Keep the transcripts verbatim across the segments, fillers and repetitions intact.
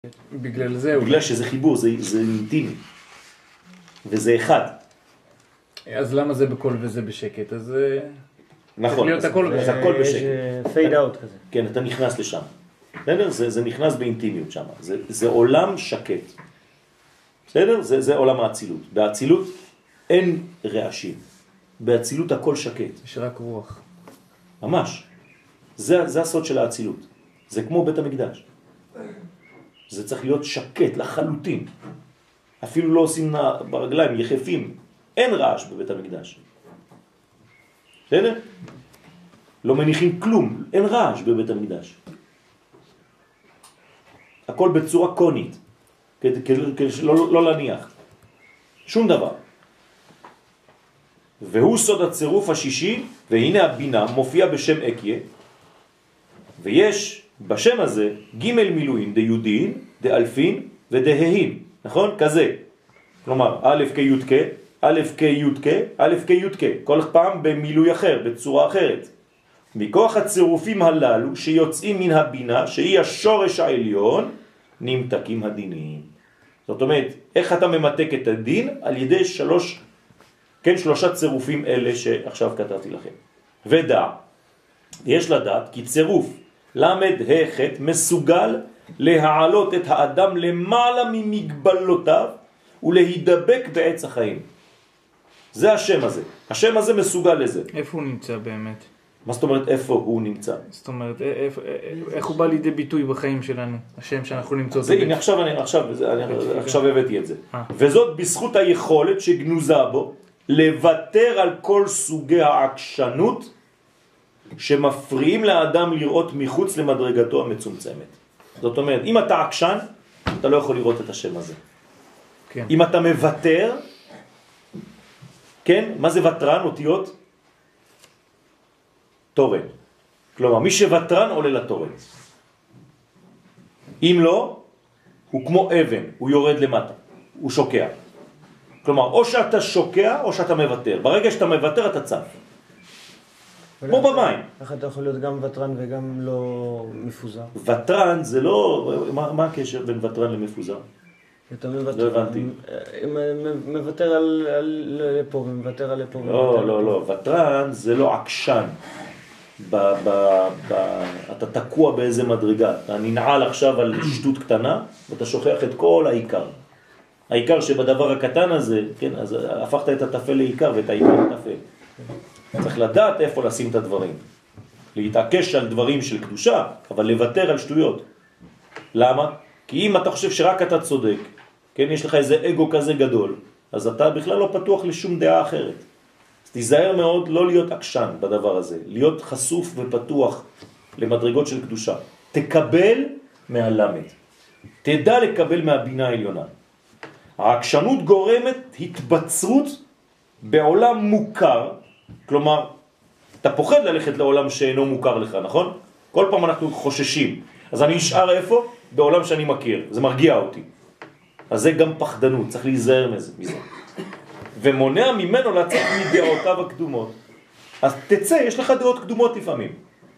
בגלל זה... בגלל שזה חיבור, זה, זה אינטימי. וזה אחד. אז למה זה בקול וזה בשקט? אז... נכון, אז, אז הכל בשקט. פייד אאוט כזה. כן, אתה נכנס לשם. בסדר? זה, זה נכנס באינטימיות שם. זה, זה עולם שקט. בסדר? זה, זה עולם האצילות. באצילות אין רעשים. באצילות הכל שקט. יש רק רוח. ממש. זה, זה הסוד של האצילות. זה כמו בית המקדש. זה צריך להיות שקט לחלוטין. אפילו לא עושים ברגליים, יחפים. אין רעש בבית המקדש. בסדר? לא מניחים כלום. אין רעש בבית המקדש. הכל בצורה קונית. כדי לא, לא להניח. שום דבר. והוא סוד הצירוף השישי, והנה הבינה מופיע בשם אקיה, ויש בשם הזה ג' מילואים דיודין, דאלפין ודההין, נכון? כזה. כלומר, א' כ' י' כ', א' כ' י' כ', א' כ' י' כ', כל פעם במילוי אחר, בצורה אחרת. מכוח הצירופים הללו שיוצאים מן הבינה, שהיא השורש העליון, נמתקים הדינים. זאת אומרת, איך אתה ממתק את הדין? על ידי שלוש, כן, שלושה צירופים אלה שעכשיו כתבתי לכם. ודע, יש לדעת כי צירוף למד החט מסוגל להעלות את האדם למעלה ממגבלותיו ולהידבק בעץ החיים. זה השם הזה. השם הזה מסוגל לזה. איפה הוא נמצא באמת? מה זאת אומרת איפה הוא נמצא? זאת אומרת, איך, איך הוא בא לידי ביטוי בחיים שלנו? השם שאנחנו נמצא. זה, הנה, עכשיו אני, עכשיו, אני, עכשיו הבאתי את זה. וזאת בזכות היכולת שגנוזה בו לוותר על כל סוגי העקשנות שמפריעים לאדם לראות מחוץ למדרגתו המצומצמת. זאת אומרת, אם אתה עקשן, אתה לא יכול לראות את השם הזה. כן. אם אתה מוותר, כן? מה זה וטרן? אותיות? תורן. כלומר, מי שוטרן עולה לתורן. אם לא, הוא כמו אבן, הוא יורד למטה, הוא שוקע. כלומר, או שאתה שוקע או שאתה מוותר. ברגע שאתה מוותר אתה צף. כמו במים. איך אתה יכול להיות גם וטרן וגם לא מפוזר? וטרן זה לא... מה, מה הקשר בין וטרן למפוזר? אתה מוותר, לא הבנתי. מוותר על, על לפה ומוותר על לפה. לא, לא, לא. וטרן זה לא עקשן. ב, ב, ב, אתה תקוע באיזה מדרגה. אתה ננעל עכשיו על שטות קטנה ואתה שוכח את כל העיקר. העיקר שבדבר הקטן הזה, כן, אז הפכת את התפל לעיקר ואת העיקר לתפל. צריך לדעת איפה לשים את הדברים. להתעקש על דברים של קדושה, אבל לוותר על שטויות. למה? כי אם אתה חושב שרק אתה צודק, כן, יש לך איזה אגו כזה גדול, אז אתה בכלל לא פתוח לשום דעה אחרת. אז תיזהר מאוד לא להיות עקשן בדבר הזה, להיות חשוף ופתוח למדרגות של קדושה. תקבל מהלמד. תדע לקבל מהבינה העליונה. העקשנות גורמת התבצרות בעולם מוכר, כלומר, אתה פוחד ללכת לעולם שאינו מוכר לך, נכון? כל פעם אנחנו חוששים. אז אני אשאר איפה? בעולם שאני מכיר. זה מרגיע אותי. אז זה גם פחדנות, צריך להיזהר מזה. ומונע ממנו לצאת מדעותיו הקדומות. אז תצא, יש לך דעות קדומות לפעמים.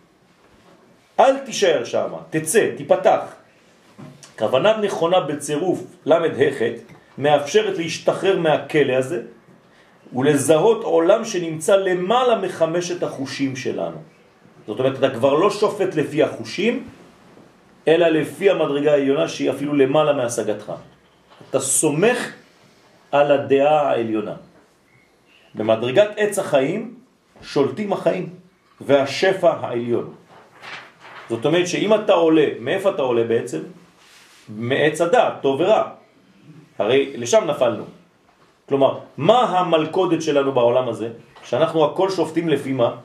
אל תישאר שם, תצא, תיפתח. כוונה נכונה בצירוף למד החט מאפשרת להשתחרר מהכלא הזה ולזהות עולם שנמצא למעלה מחמשת החושים שלנו. זאת אומרת, אתה כבר לא שופט לפי החושים, אלא לפי המדרגה העליונה שהיא אפילו למעלה מהשגתך. אתה סומך על הדעה העליונה. במדרגת עץ החיים שולטים החיים והשפע העליון. זאת אומרת שאם אתה עולה, מאיפה אתה עולה בעצם? מעץ הדעת, טוב ורע. הרי לשם נפלנו. כלומר, מה המלכודת שלנו בעולם הזה? שאנחנו הכל שופטים לפי מה?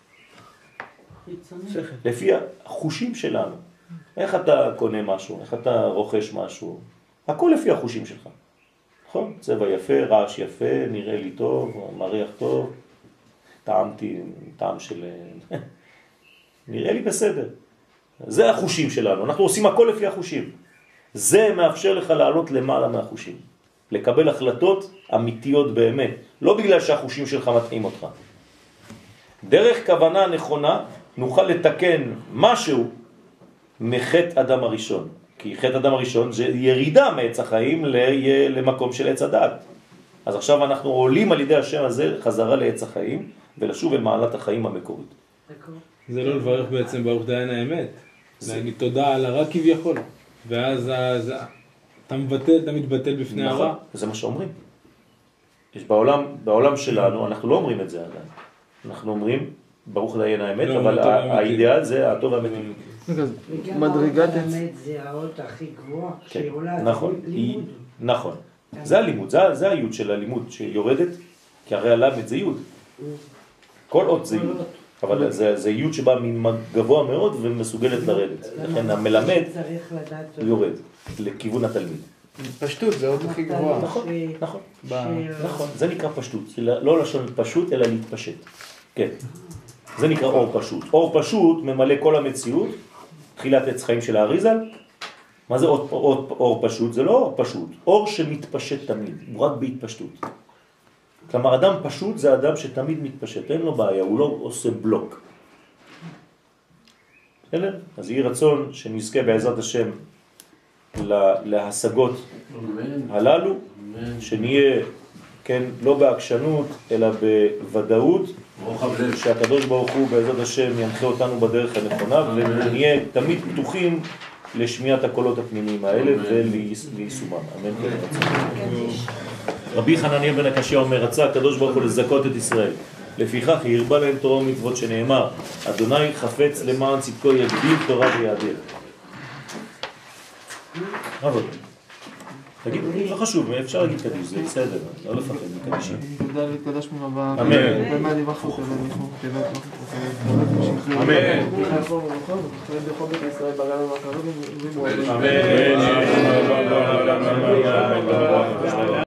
לפי החושים שלנו. איך אתה קונה משהו? איך אתה רוכש משהו? הכל לפי החושים שלך. נכון? צבע יפה, רעש יפה, נראה לי טוב, מריח טוב, טעמתי, טעם של... נראה לי בסדר. זה החושים שלנו. אנחנו עושים הכל לפי החושים. זה מאפשר לך לעלות למעלה מהחושים. לקבל החלטות אמיתיות באמת. לא בגלל שהחושים שלך מתאים אותך. דרך כוונה נכונה נוכל לתקן משהו מחטא אדם הראשון. כי חטא אדם הראשון זה ירידה מעץ החיים למקום של עץ הדעת. אז עכשיו אנחנו עולים על ידי השם הזה חזרה לעץ החיים, ולשוב אל מעלת החיים המקורית. זה לא לברך בעצם ברוך דיין האמת. להגיד תודה על הרע כביכול. ואז אתה מבטל, אתה מתבטל בפני הרע. נכון, זה מה שאומרים. יש בעולם, בעולם שלנו, אנחנו לא אומרים את זה עדיין. אנחנו אומרים ברוך דיין האמת, אבל האידאל זה הטוב והאמיתי. מדרגת האמת זה האות הכי גבוהה שעולה לימוד. נכון, זה הלימוד, זה היוד של הלימוד שיורדת, כי הרי הלמד זה יוד. כל אות זה יוד, אבל זה יוד שבא מגבוה מאוד ומסוגלת לרדת. לכן המלמד יורד לכיוון התלמיד. פשטות זה האות הכי גבוהה. נכון, נכון, נכון, זה נקרא פשטות, לא לשון פשוט אלא להתפשט. כן, זה נקרא אור פשוט. אור פשוט ממלא כל המציאות, תחילת עץ חיים של האריזל. מה זה אור, אור, אור פשוט? זה לא אור פשוט, אור שמתפשט תמיד, הוא רק בהתפשטות. כלומר, אדם פשוט זה אדם שתמיד מתפשט, אין לו בעיה, הוא לא עושה בלוק. בסדר? אז יהי רצון שנזכה בעזרת השם להשגות הללו, שנהיה, כן, לא בעקשנות, אלא בוודאות, שהקדוש ברוך הוא בעזרת השם ינחה אותנו בדרך הנכונה, ונהיה תמיד פתוחים לשמיעת הקולות הפנימיים האלה וליישומם. אמן כן רצון. רבי חנניה בן הקשיא אומר, רצה הקדוש ברוך הוא לזכות את ישראל. לפיכך הרבה להם תורה ומצוות שנאמר, אדוני חפץ למען צדקו יגדיל תורה ויאדיר. אבל, תגיד, לא חשוב, אפשר להגיד קדיש, זה בסדר, לא לפחד מקדישים. תודה להתקדש ממבא. אמן. ומה דיווחו כזה מישהו, תיבת אמן. אמן.